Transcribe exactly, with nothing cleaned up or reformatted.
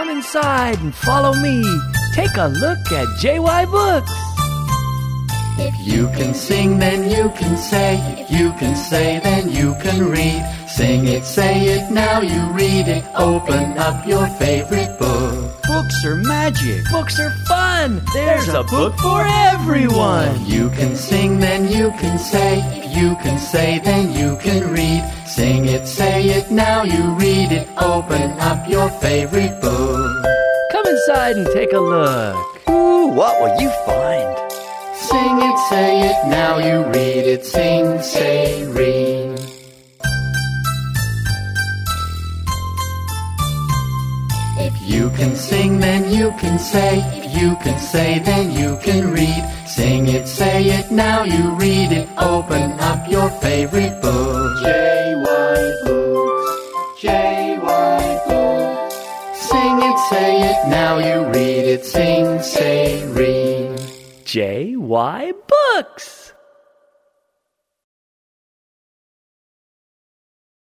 Come inside and follow me. Take a look at J Y Books. If you can sing, then you can say. If you can say, then you can read. Sing it, say it, now you read it. Open up your favorite book. Books are magic. Books are fun. There's a book for everyone. If you can sing, then you can say. If you can say, then you can read. Sing it, say it, now you read it. Open up your favorite book. Come inside and take a look. Ooh, what will you find? Sing it, say it, now you read it. Sing, say, read. If you can sing, then you can say. If you can say, then you can read. Sing it, say it, now you read it. Open up your favorite book. J Y Books, J Y Books. Sing it, say it, now you read it. Sing, say, read. J Y Books.